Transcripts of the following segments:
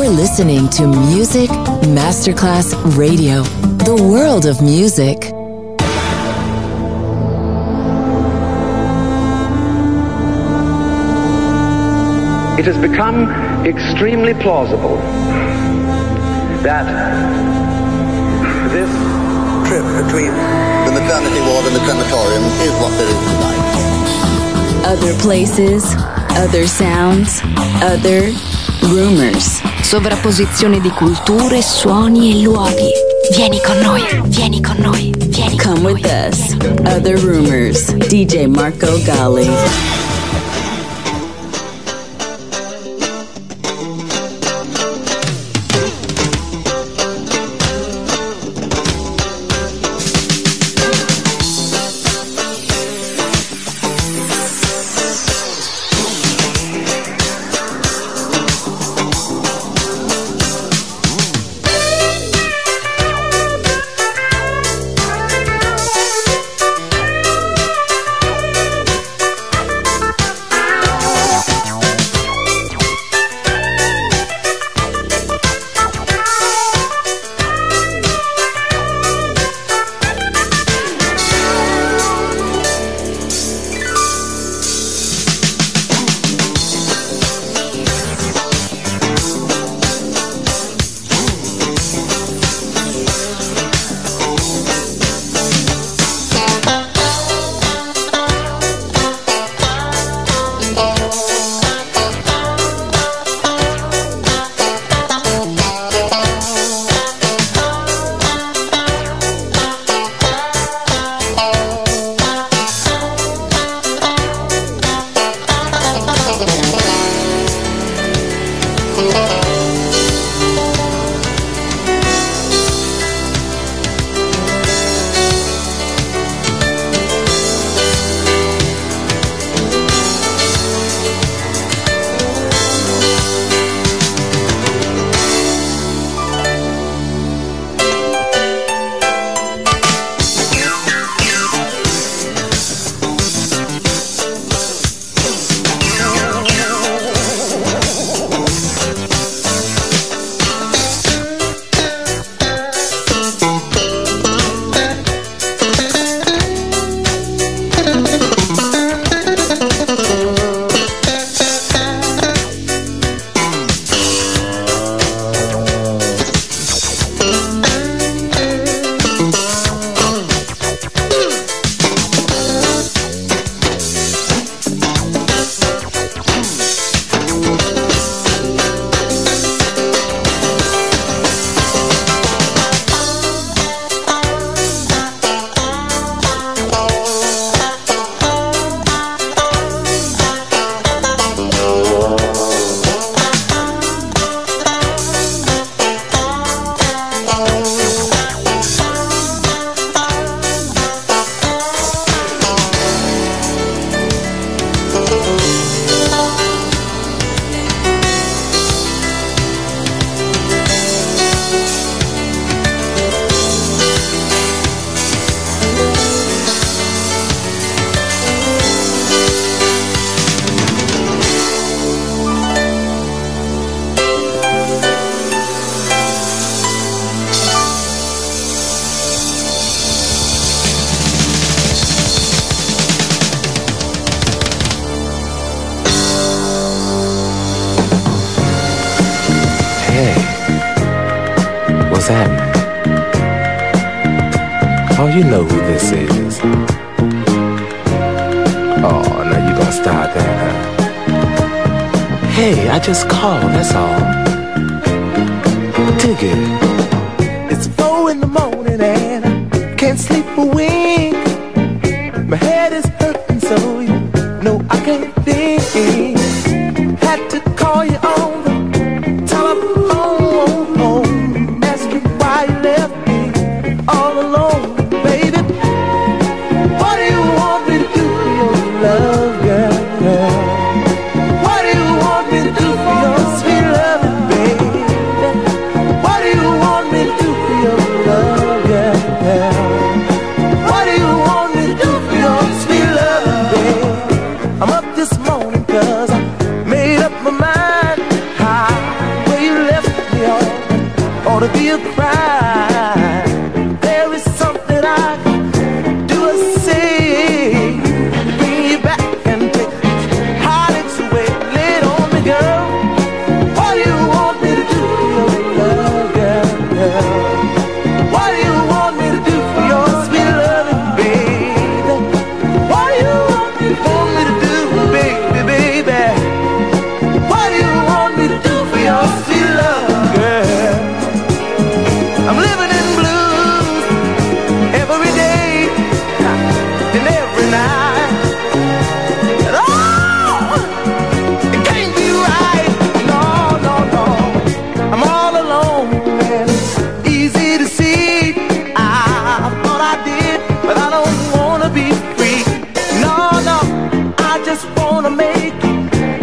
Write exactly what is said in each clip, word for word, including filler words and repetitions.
You're listening to Music Masterclass Radio, the world of music. It has become extremely plausible that this trip between the maternity ward and the crematorium is what there is tonight. Other places, other sounds, other rumors. Sovrapposizione di culture, suoni e luoghi. Vieni con noi, vieni con noi, vieni con Come noi. with us. Other rumors. D J Marco Gally. Oh, you know who this is. Oh, now you gonna start that, huh? Hey, I just called, that's all. Dig it. It's four in the morning and I can't sleep a wink. My head is hurting so you know I can't think. Had to call you on the telephone, ask you why you left me all alone. Baby, what do you want me to do for your love, girl, girl? What do you want me to do for your sweet love, baby? What do you want me to do for your love, girl, girl? ought to be a crime. There is something I can do or say, bring you back and take heartaches away. Lay it on me, girl. What do you want me to do for your love, girl, girl? What do you want me to do for your sweet loving, baby? What do you want me, want me to do, baby, baby? What do you want me to do for your sweet love, girl? I'm living in blues every day and every night. And oh, it can't be right. No, no, no. I'm all alone and it's easy to see. I thought I did, but I don't wanna be free. No, no. I just wanna make you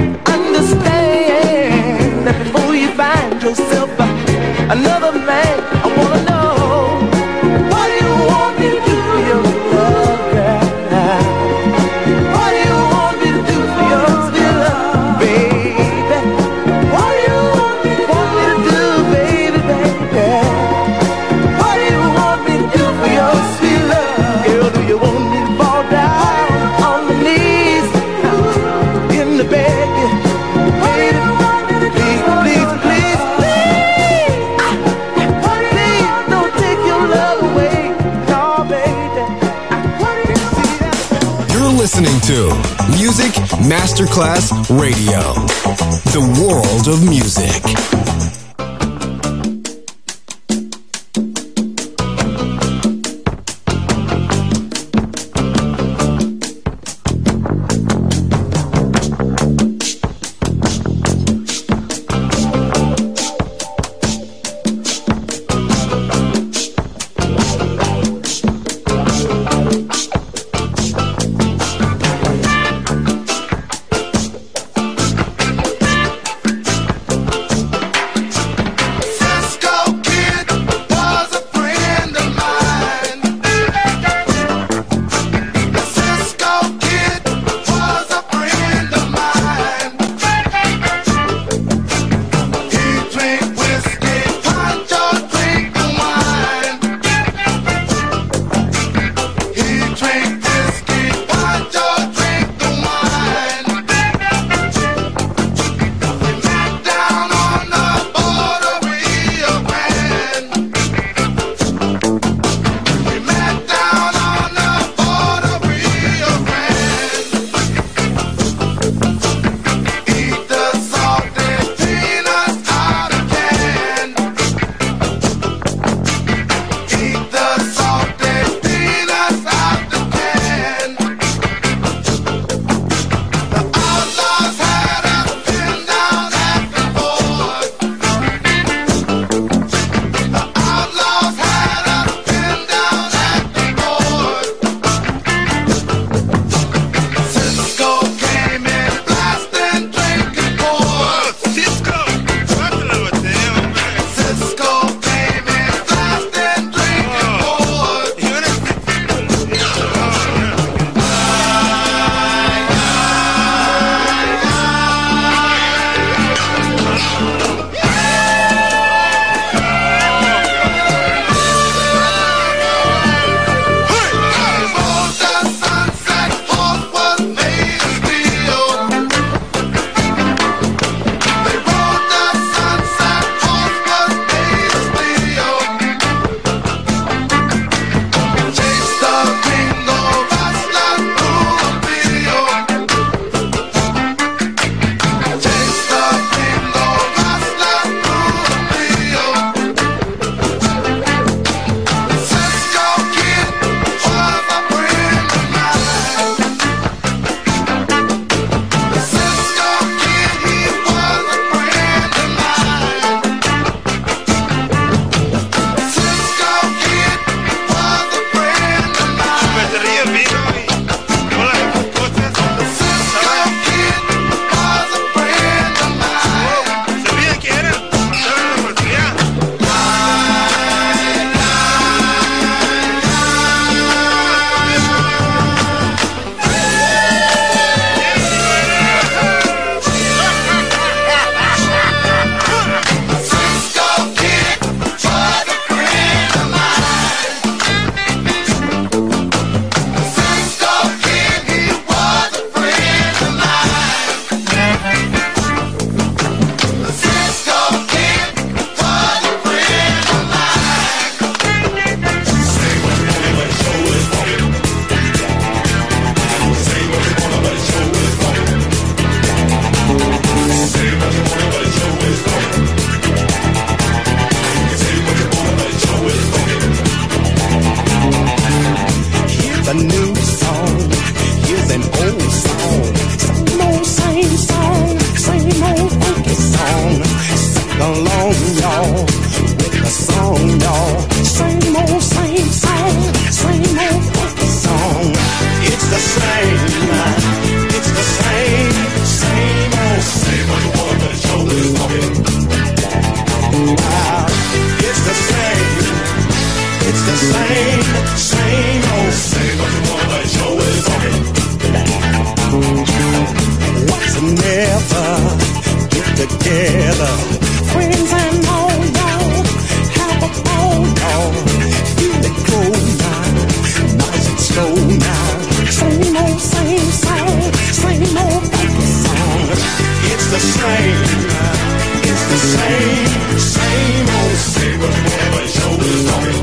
understand that before you find yourself another man, I wanna know, what do you want me to do for your love, girl? What do you want me to do for your sweet love, baby? What do you want me, want me to do, baby, baby? What do you want me to do for your sweet love? Girl, do you want me to fall down on my knees in the bed? Baby, please, please, please, please. Please don't take your love away. No, baby. I can't see that. You're listening to Music Masterclass Radio, the world of music. along, y'all, with the song, y'all. Same old, same song, same old funky song. It's the same, it's the same, same old. Say what you want, but the show is talking. Wow, it's the same, it's the same, same old. Say what you want, but the show is talking. What's never get together, friends and all, y'all, have a ball, y'all. Feel it go now, nice and slow now. Same old, same song, same old funky song. It's the same, it's the same, same old. Say what you want, but show is talking.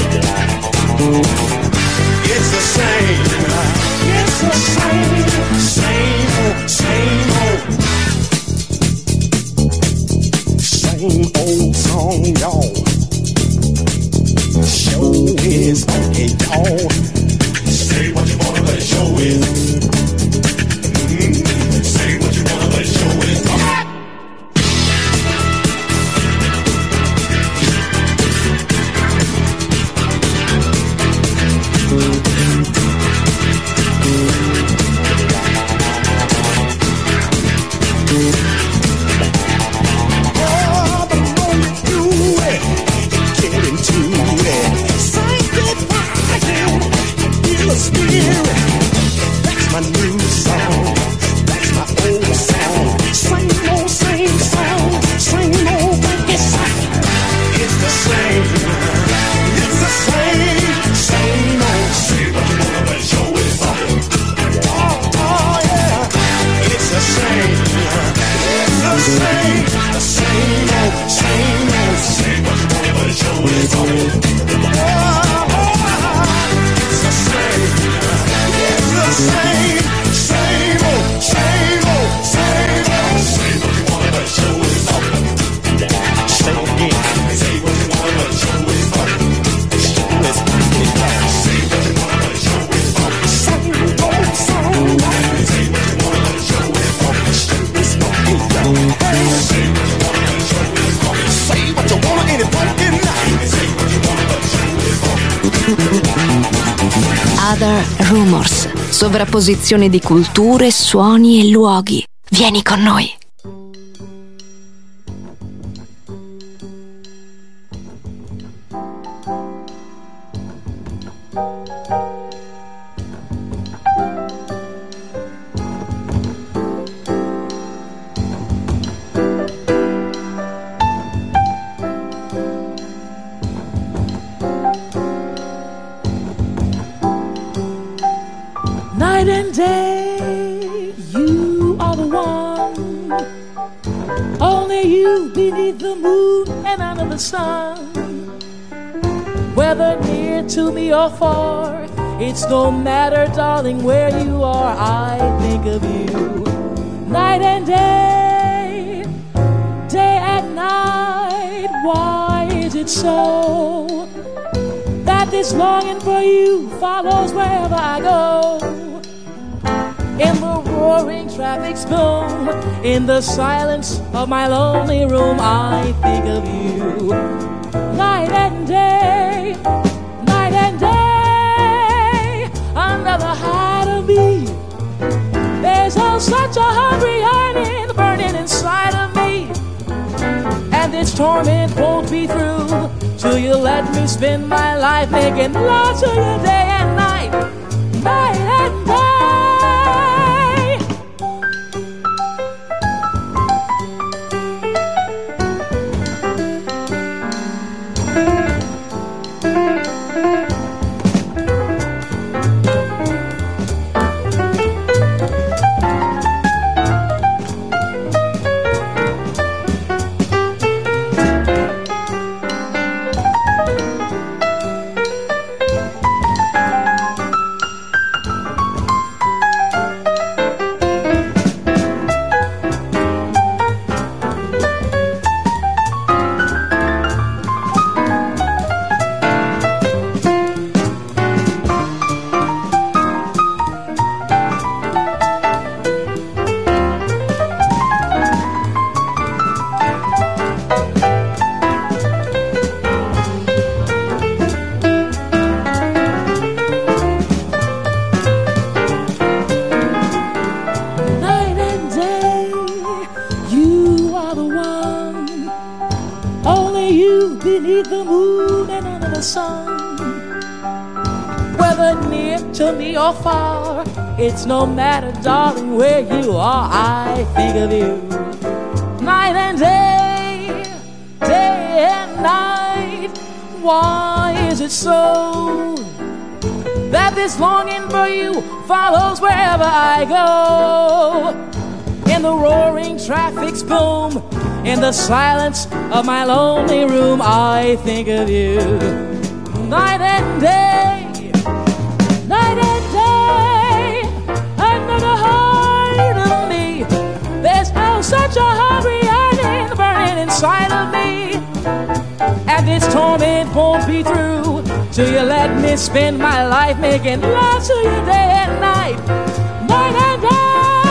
It's the same, it's the same, same old, same old. Same old song, y'all. Show is funky, y'all. Say what you wanna, but show is. Mm-hmm. Say what you wanna, but show is. Other Rumors, sovrapposizione di culture, suoni e luoghi. Vieni con noi. Night and day, you are the one. Only you beneath the moon and under the sun. Whether near to me or far, it's no matter, darling, where you are, I think of you. Night and day, day and night, why is it so that this longing for you follows wherever I go? In the roaring traffic's boom, in the silence of my lonely room, I think of you. Night and day, night and day, under the hide of me, there's oh such a hungry yearning burning inside of me. And this torment won't be through till you let me spend my life making love to you day and night, night and day. move beneath the moon and under the sun. Whether near to me or far, it's no matter, darling, where you are, I think of you. Night and day, day and night. Why is it so that this longing for you follows wherever I go? In the roaring traffic's boom, in the silence of my lonely room, I think of you. Night and day, night and day, under the heart of me, there's oh such a hungry yearning burning inside of me. And this torment won't be through till you let me spend my life making love to you day and night, night and day.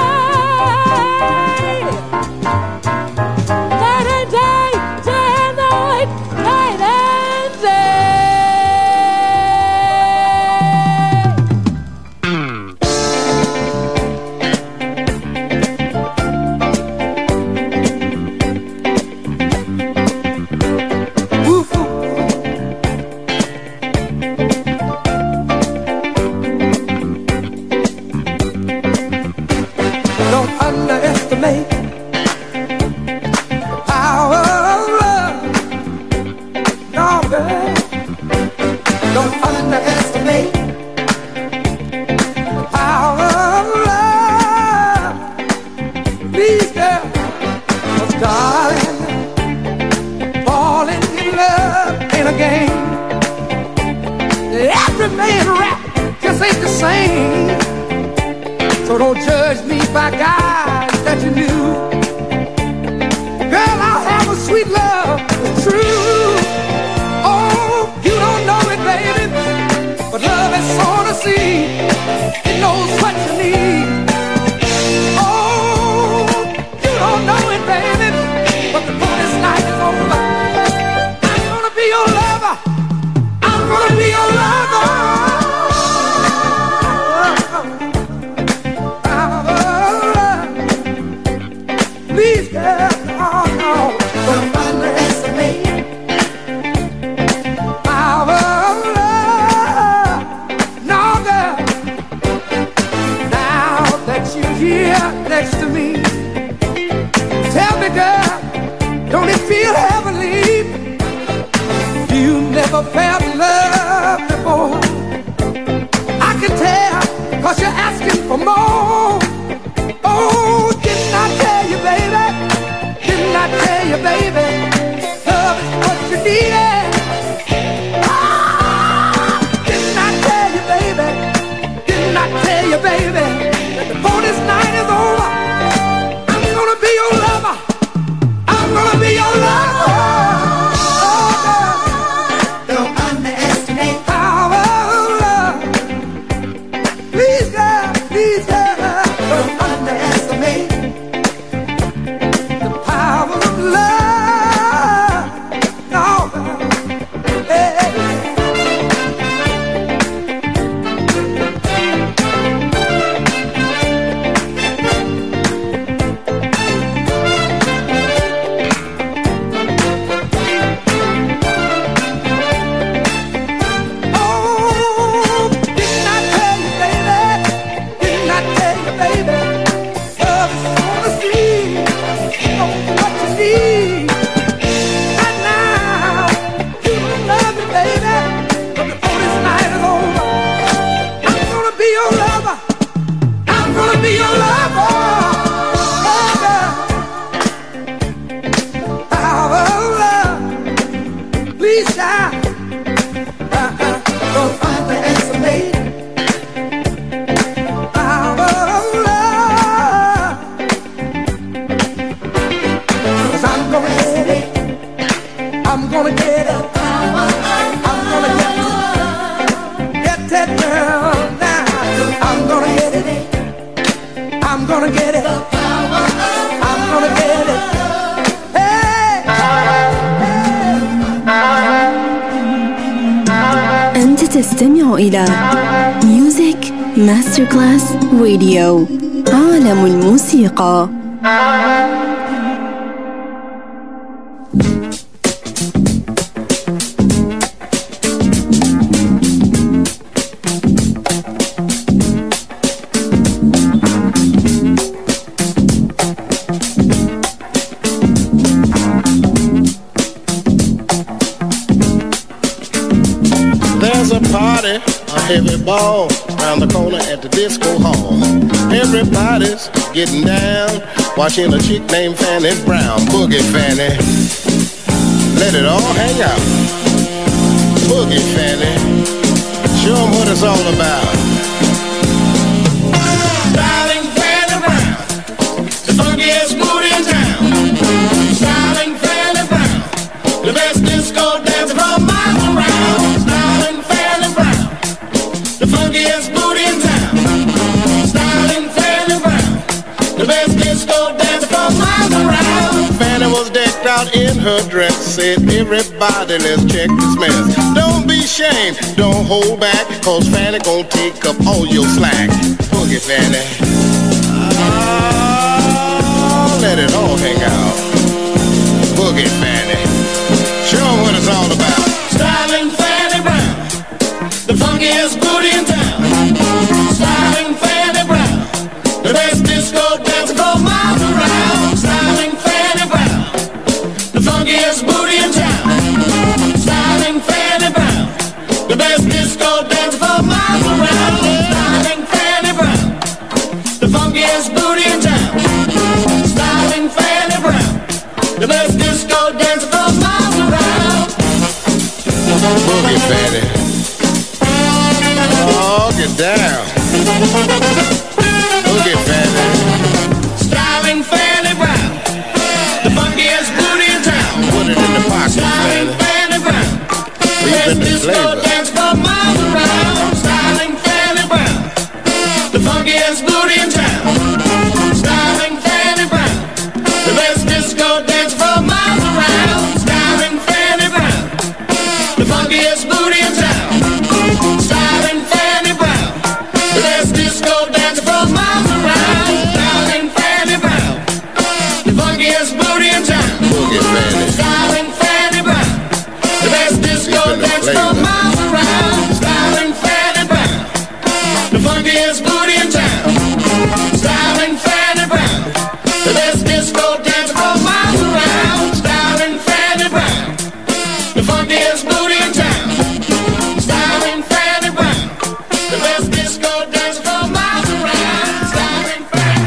تستمع إلى Music Masterclass Radio. عالم الموسيقى. party, a heavy ball round the corner at the disco hall. Everybody's getting down, watching a chick named Fanny Brown. Boogie Fanny, let it all hang out. Boogie Fanny, show 'em what it's all about. Styling Fanny Brown, the funkiest booty in town. Styling Fanny Brown, the best disco dancer from miles around. Styling Fanny Brown, the funkiest booty in town. Styling Fanny Brown, the best disco dancer from miles around. Fanny was decked out in her dress, said everybody let's check this mess. Don't be ashamed, don't hold back, cause Fanny gon' take up all your slack. Boogie Fanny, ah, let it all hang out. Boogie Fanny, show 'em what it's all about. Styling Fanny Brown, the funkiest booty in town. Styling Fanny Brown, the best disco dancer for miles around. Styling Fanny Brown, the funkiest booty in town. Styling Fanny Brown, the best disco dancer for miles around. Styling Fanny Brown, the funkiest booty in town. Styling Fanny Brown, the best disco dancer for miles around. Boogie Fanny, oh, get down. Boogie Fanny, styling Fanny Brown, the funkiest booty in town. Put it in the pocket, styling Fanny Brown, the best disco dancer for miles around. Styling Fanny Brown, the funkiest booty in town. Styling Fanny Brown, the best disco dancer for miles around. Styling Fanny Brown, the funkiest booty in town. Styling Fanny Brown, the best disco dancer for miles around. Styling Fanny Brown, the funkiest booty in town. Styling Fanny Brown, the best disco dancer for miles around. Styling Fanny Brown, the funkiest booty in town. Styling Fanny Brown, the best disco dancer for miles around. Styling Fanny Brown, the funkiest booty in town. Styling Fanny Brown, the best disco dancer for miles around. Styling Fanny.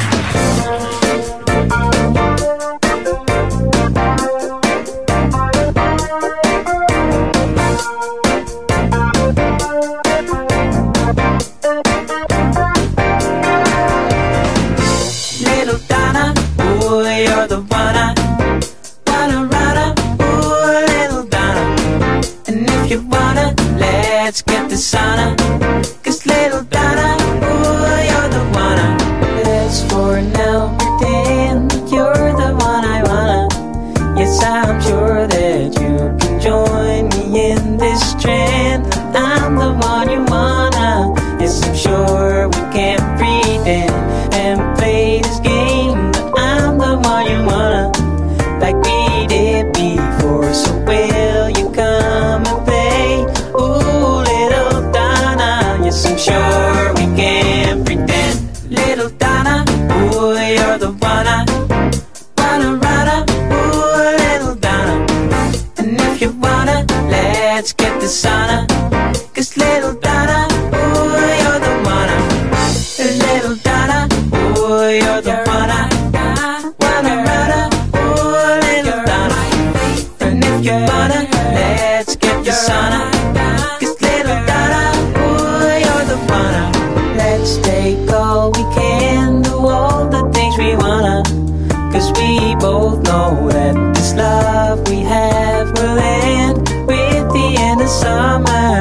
Little Donna, ooh, you're the one I wanna ride. Ooh, little Donna. And if you wanna, let's get the sauna. 'Cause little Donna, ooh, you're the one I. Let's for now pretend that you're the one I wanna. Yes, I'm sure that you can join me in this trend. I'm the one you wanna. Yes, I'm sure we can pretend and play this game. But I'm the one you wanna, like we did before. So will you come and play? Ooh, little Donna. Yes, I'm sure we can pretend. Little Donna, ooh, you're the one I wanna ride. Ooh, little Donna. And if you wanna, let's get the sauna. 'Cause little Donna, ooh, you're the one I. Little Donna, ooh, you're the one I wanna ride. Ooh, little Donna. And if you wanna, let's get the sauna. 'Cause little Donna, ooh, you're the one I. Let's take all we can, do all the things we wanna. 'Cause we both know that this love we have will end with the end of summer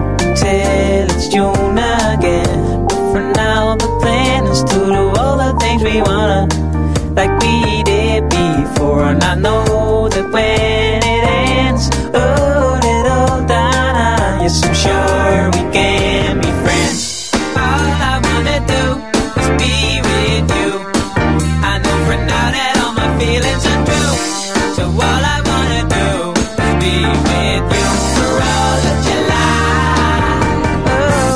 till it's June again. But for now the plan is to do all the things we wanna, like we did before. And I know that when it ends, oh, little Donna, yes, I'm sure we can be friends. All I wanna do is be with you. I know for now that all my feelings are true. So all I wanna do is be with you for all of July. Oh,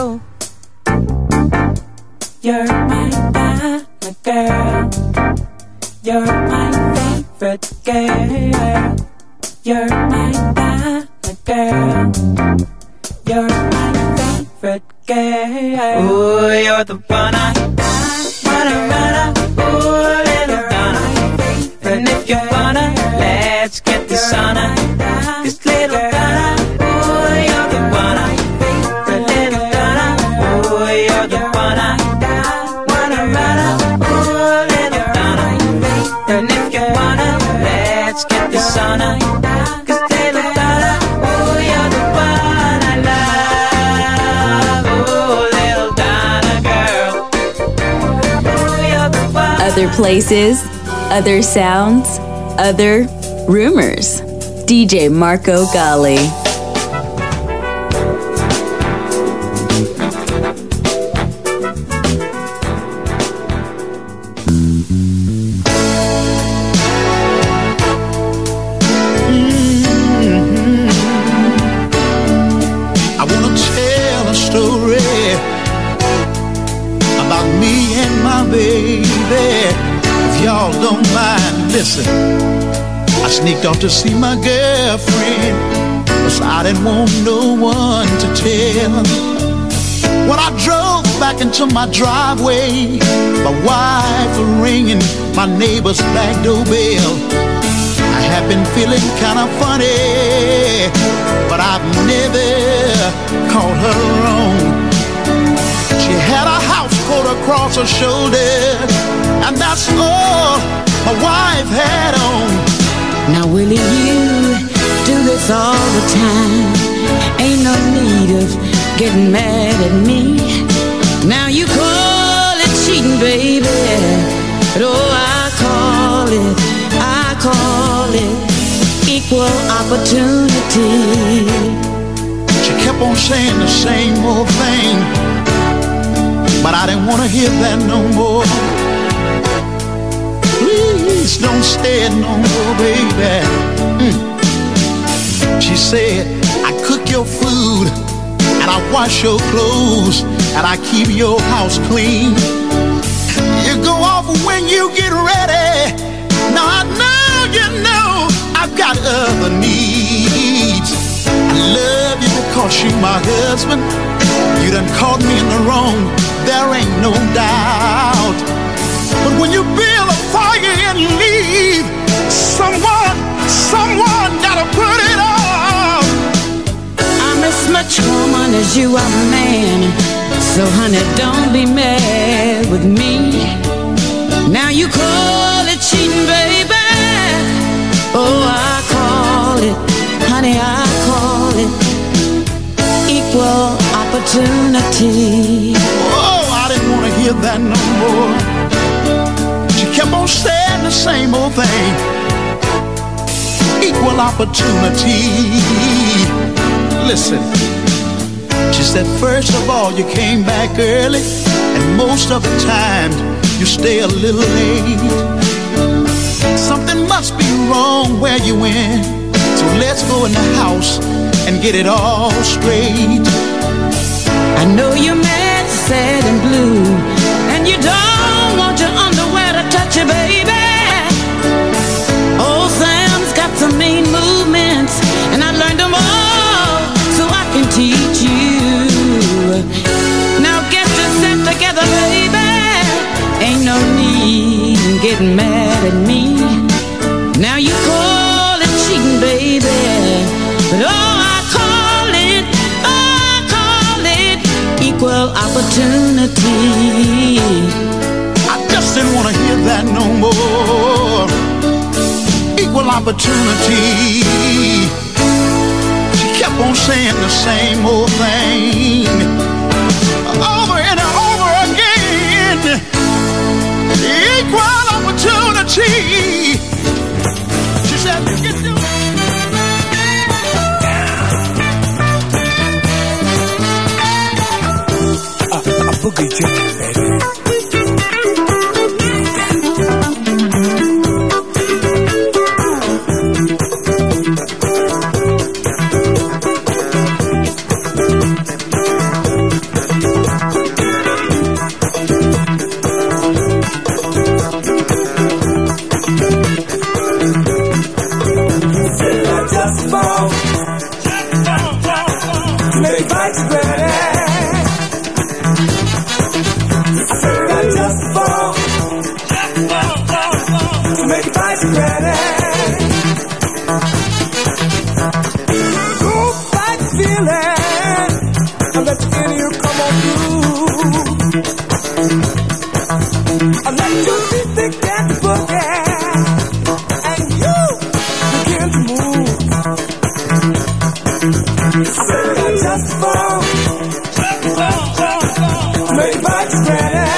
you're my diamond girl. You're my favorite girl. You're my diamond girl. You're my favorite favorite girl. Ooh, you're the one I wanna run. Ooh, little Donna. And if you wanna, let's get the sauna. This little Donna. Ooh, you're the one I the little Donna. Ooh, you're the one I wanna run. Ooh, little Donna. And if you wanna, let's get the sauna. Other places, other sounds, other rumors. D J Marco Gally. I wanna tell a story about me and my baby. If y'all don't mind, listen. I sneaked off to see my girlfriend, 'cause I didn't want no one to tell. When I drove back into my driveway, my wife was ringing my neighbor's back doorbell. I have been feeling kind of funny, but I've never called her wrong. She had a house coat across her shoulder, and that's all my wife had on. Now Willie, you do this all the time. Ain't no need of getting mad at me. Now you call it cheating, baby, but oh, I call it, I call it equal opportunity. She kept on saying the same old thing, but I didn't want to hear that no more. Please don't stay it no more, baby. Mm. She said, I cook your food, and I wash your clothes, and I keep your house clean. You go off when you get ready. Now I know you know I've got other needs. I love you because you're my husband. You done caught me in the wrong, there ain't no doubt. But when you build a fire and leave, someone, someone gotta put it out. I'm as much woman as you are man, so honey, don't be mad with me. Now you call it cheating, baby. Oh, I call it, honey, I call it equal opportunity. Oh, I didn't want to hear that no more. She kept on saying the same old thing. Equal opportunity. Listen, she said, first of all, you came back early, and most of the time, you stay a little late. Something must be wrong where you went, so let's go in the house and get it all straight. I know you're mad, sad and blue, and you don't want your underwear to touch you, baby. Old Sam's got some mean movements, and I learned them all so I can teach you. Now get yourself together, baby. Ain't no need in getting mad at me. Now you call it cheating, baby, but oh, I call it, oh, I call it equal opportunity. I just didn't want to hear that no more. Equal opportunity. She kept on saying the same old thing over and over again. Equal opportunity. She said, you get to a, a boogie chicken, baby. Make bites ready. just fall. Maybe I just ran.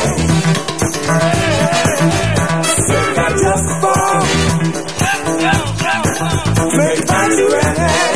Say I just fall. Maybe I just ran.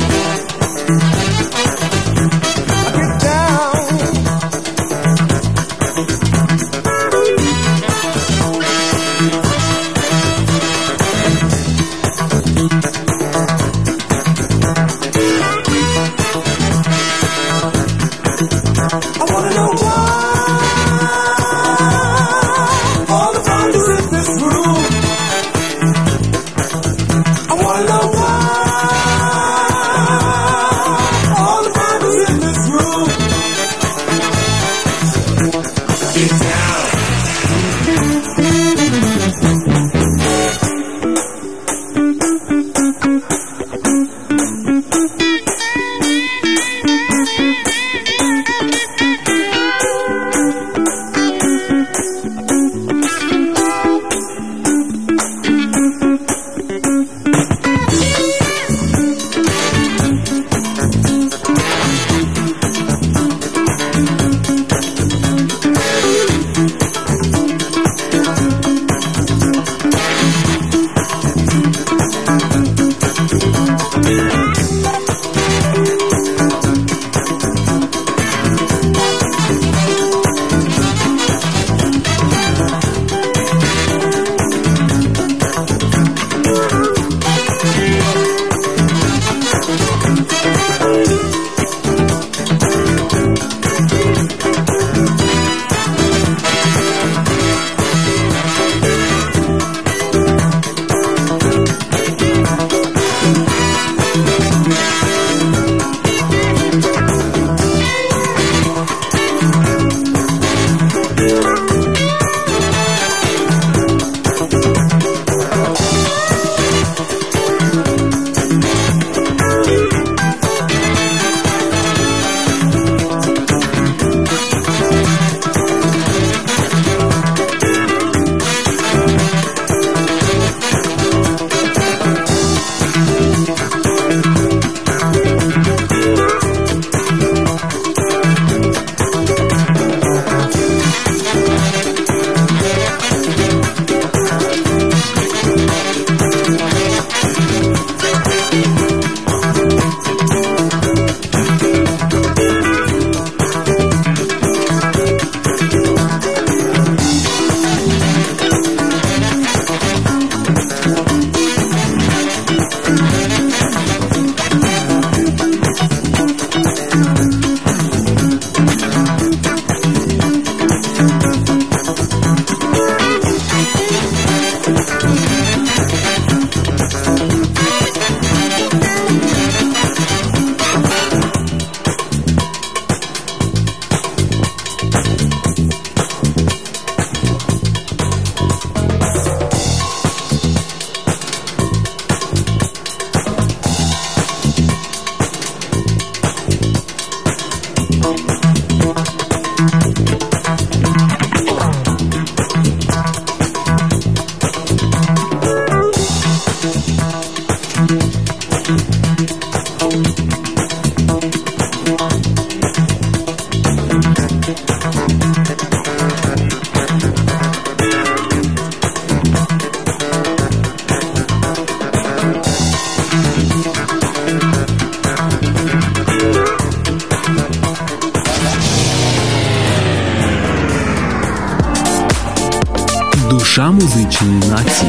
Душа музичної нації.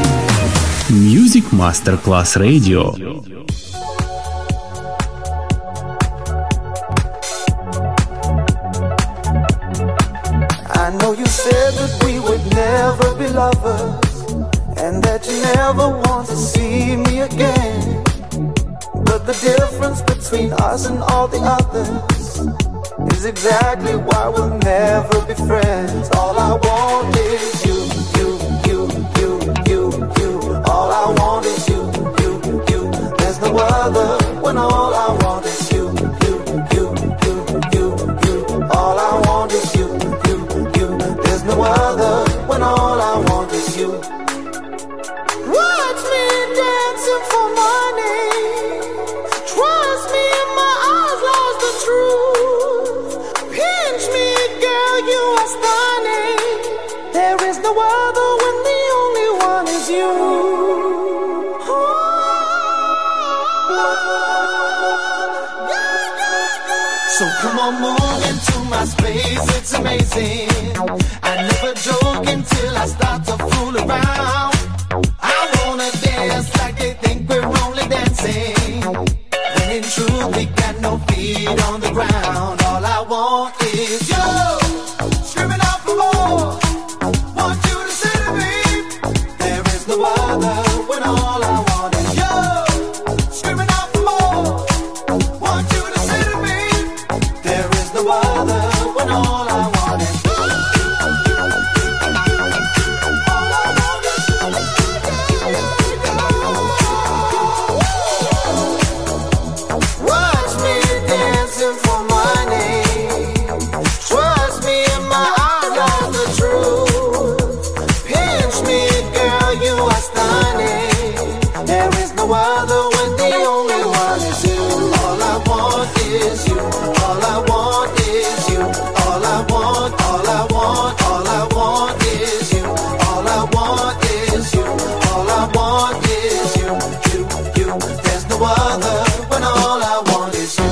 Music Masterclass Radio. I know you said that we would never be lovers, and that you never want to see me again. But the difference between us and all the others is exactly why we'll never be friends. All I want is you, you, you, you, you, you. All I want is you, you, you. There's no other when all I want is you, you, you, you, you, you. All I want is you, you, you. There's no other when all I want is you. Watch me dancing for money. Trust me, my eyes lost the So come on, move into my space, it's amazing. I never joke until I start to fool around. I wanna dance like they think we're only dancing, when in truth we got no feet on the ground. All I want is you, screaming out for more. Want you to say to me, there is no other, when all I want is you, screaming out for more. Want you to say to me, there is no other, when all I want is you. Watch me dancing for money. Trust me in my eyes are the truth. Pinch me, girl, you are stunning. There is no other when the only one is you. All I want is you. All I want is you. All I want, all I want, all I want is you. All I want is you. All I want is you. You, you. There's no other when all I want is you.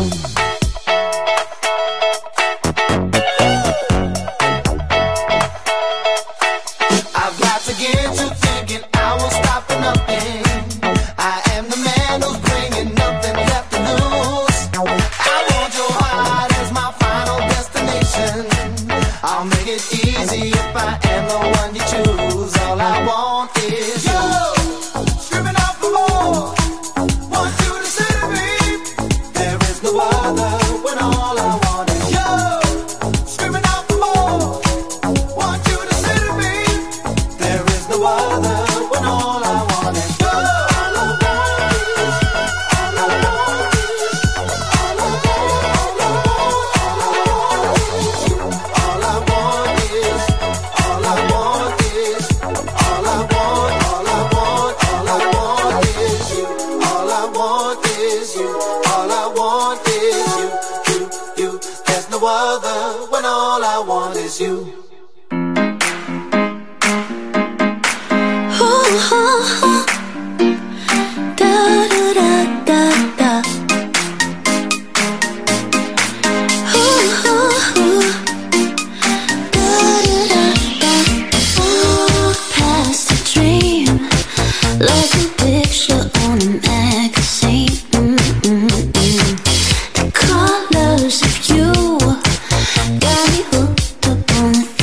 I've got to get you thinking I will stop for nothing. I am the man who's bringing nothing left to lose. I want your heart as my final destination. I'll make it easy if I am the one you choose. All I want is you, screaming out for more. Want you to say to me, there is no other, when all I want is you, screaming out for more. Want you to say to me, there is no other, when all I want is you. All I want is, all I want is, all I want, all I want, all I want is you. All I want is, all I want is, all I want, all I want, all I want is you. All I want is you. All I want is you. You, you. There's no other when all I want is you. Past a dream, like a picture on a magazine. Mm-mm-mm. The colors of you got me hooked up on the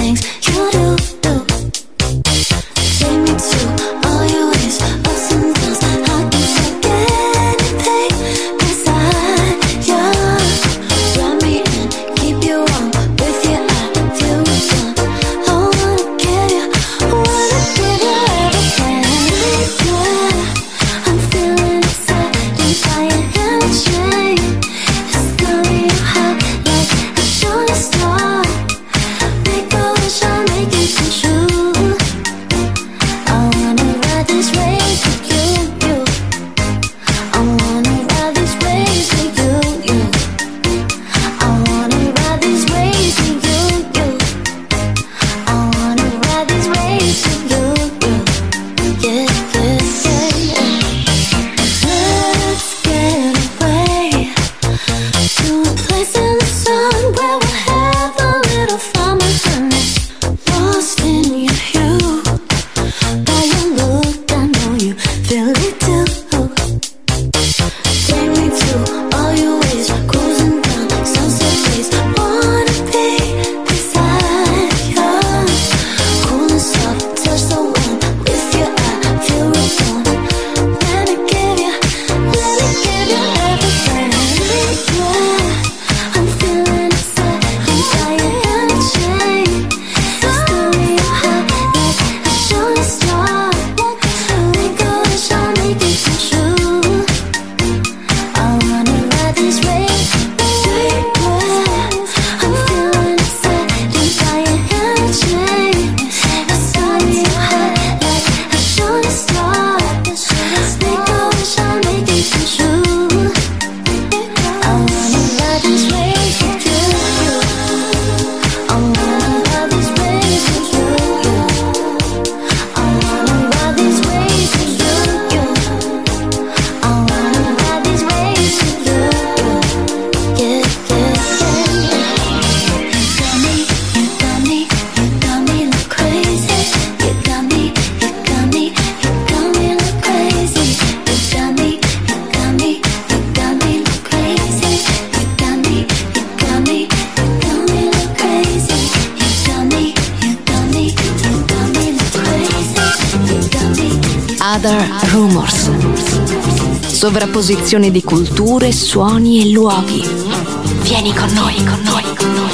Other Rumors. Sovrapposizione di culture, suoni e luoghi. Vieni con noi, con noi, con noi.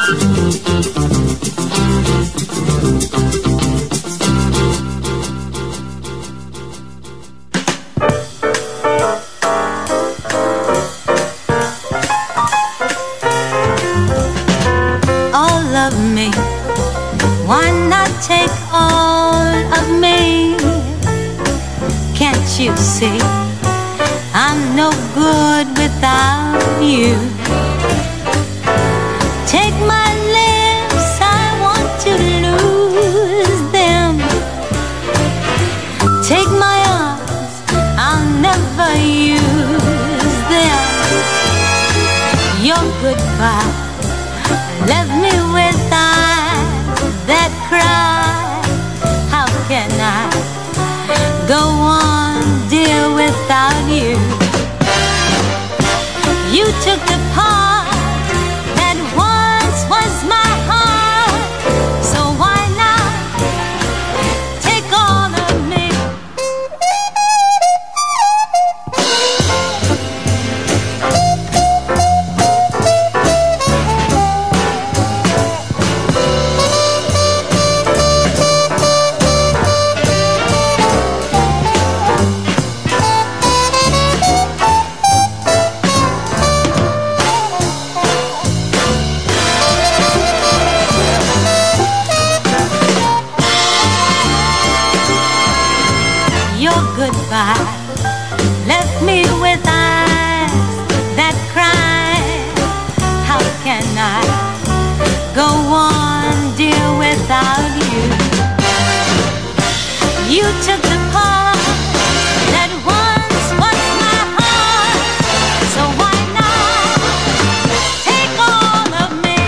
All of me, why not take all of me? Can't you see I'm no good without you? Take my lips, I want to lose them. Take my arms, I'll never use them. Your goodbye left me with eyes that cry. How can I go on, dear, without you? You took the part that once was my heart, so why not take all of me? Goodbye left me with eyes that cry. How can I go on, dear, without you? You took the part that once was my heart, so why not take all of me?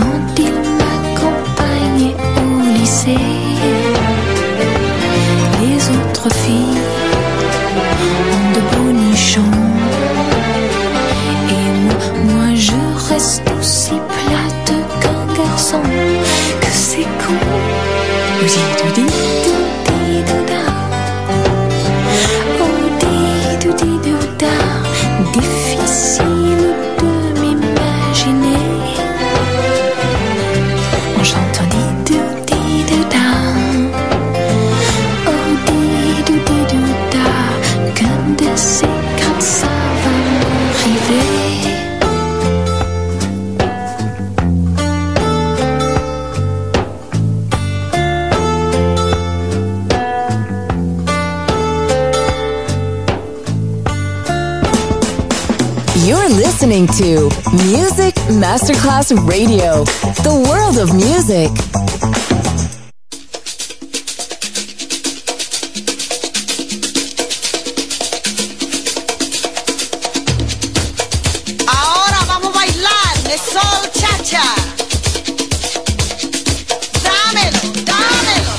Les Listening to Music Masterclass Radio, the world of music. Ahora vamos a bailar de Soul Cha-Cha. Dámelo, dámelo.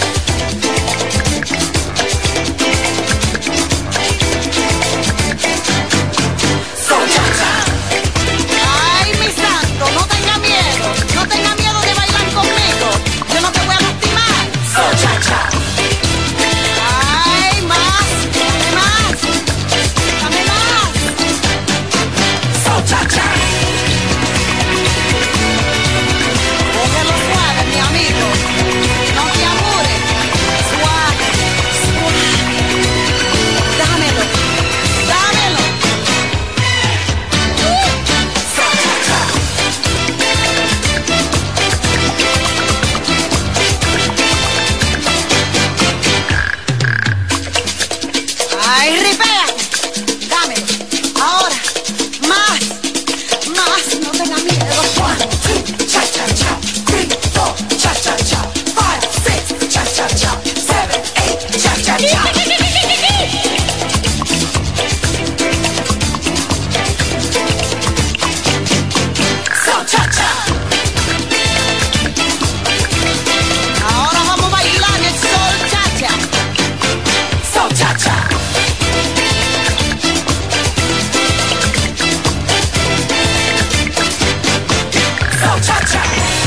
Soul Cha-Cha. Ay, mi santo, no tenga miedo, no tenga miedo de bailar conmigo. Yo no te voy a lastimar. Soul Cha-Cha. Ay, más, dame más, dame más. Soul Cha-Cha. Cógelo suave, mi amigo. No te apures. Suave, suave. Dámelo, dámelo. Soul Cha-Cha. Ay, ripea. Dámelo. Ahora. Más. Más. No tenga miedo. One, two, cha-cha-cha. Three, four, cha-cha-cha. Five, six, cha-cha-cha. Seven, eight, cha-cha-cha. Soul Cha-Cha. Ahora vamos a bailar el Soul Cha-Cha. Soul Cha-Cha. Soul Cha-Cha.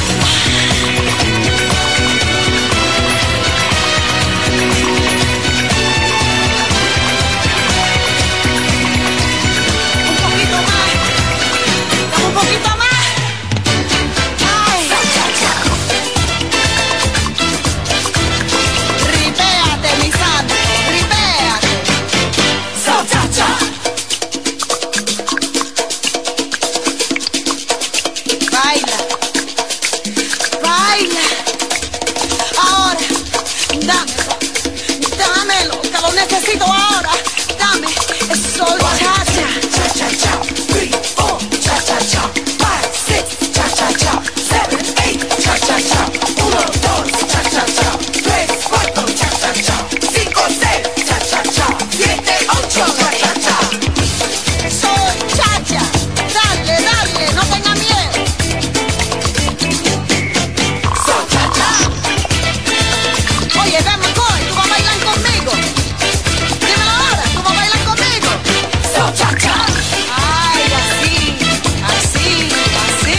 Un poquito más. Dame un poquito más. Ay. Soul Cha-Cha. Ripéate, mi santo. Ripéate. Soul Cha-Cha. Baila. Baila. Ahora. Dámelo. Dámelo. Que lo necesito ahora. Dame. Es Soul Cha-Cha. Cha-cha-cha. Three, four, cha-cha-cha. Five, six, cha-cha-cha. Seven, eight, cha-cha-cha. Uno, dos, cha-cha-cha. Tres, cuatro, cha-cha-cha. Cinco, seis, cha-cha-cha. Siete, ocho, cha-cha-cha. Soul Cha-Cha. Dale, dale, no tenga miedo. Soul Cha-Cha. Oye, ven, McCoy, tú vas a bailar conmigo. Dímelo ahora, tú vas a bailar conmigo. Soul Cha-Cha. Ay, así, así, así.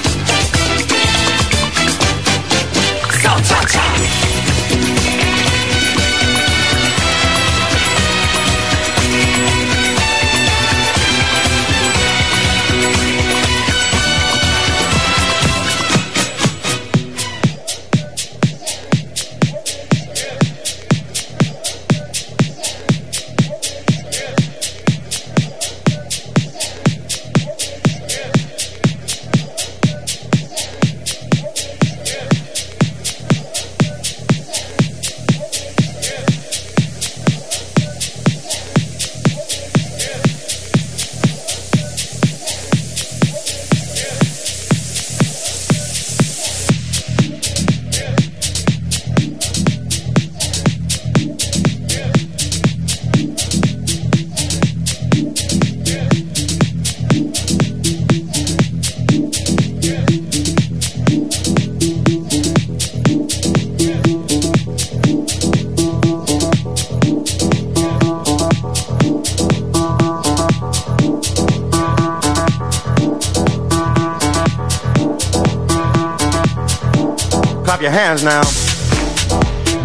Soul Cha-Cha. Clap your hands now.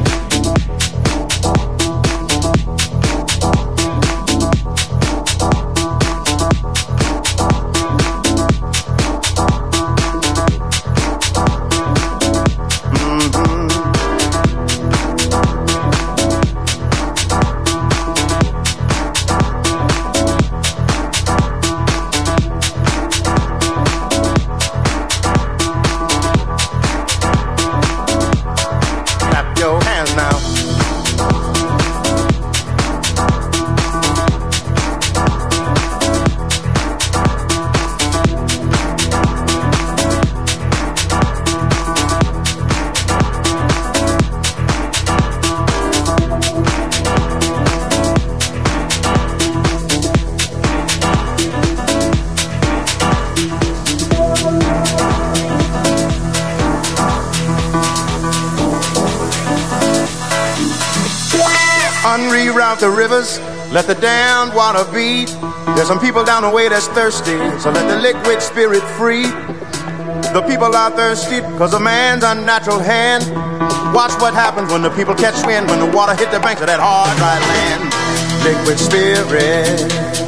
Unreroute the rivers, let the damned water beat. There's some people down the way that's thirsty, so let the liquid spirit free. The people are thirsty because of man's unnatural hand. Watch what happens when the people catch wind, when the water hit the banks of that hard, dry land. Liquid spirit,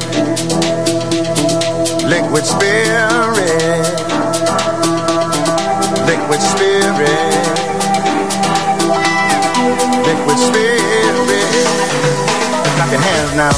liquid spirit, liquid spirit, liquid spirit. Clap your hands now.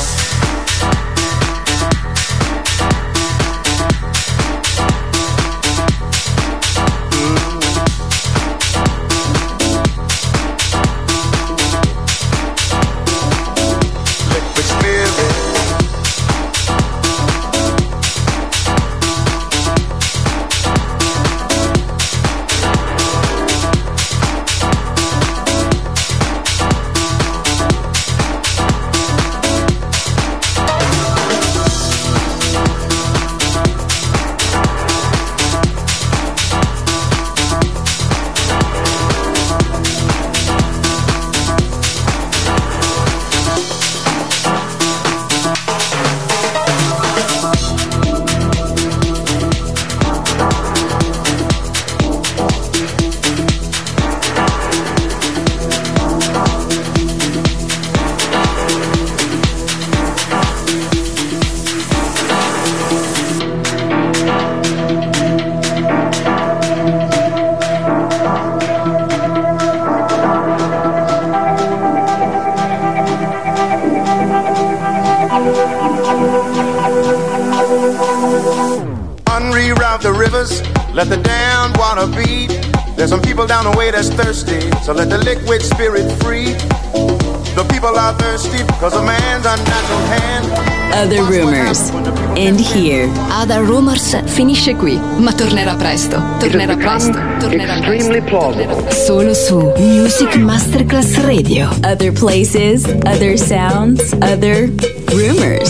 Unreroute the rivers, let the damned water beat. There's some people down the way that's thirsty, so let the liquid spirit free. The people are thirsty because of man's unnatural hand. Other Rumors end here. Other Rumors finisce qui, ma tornerà presto. Tornerà presto. Tornerà presto. Solo su Music Masterclass Radio. Other places, other sounds, other rumors.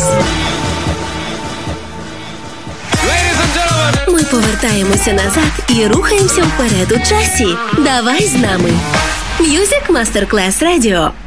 Ми повертаємося назад і рухаємося вперед у часі. Давай з нами. Music Masterclass Radio.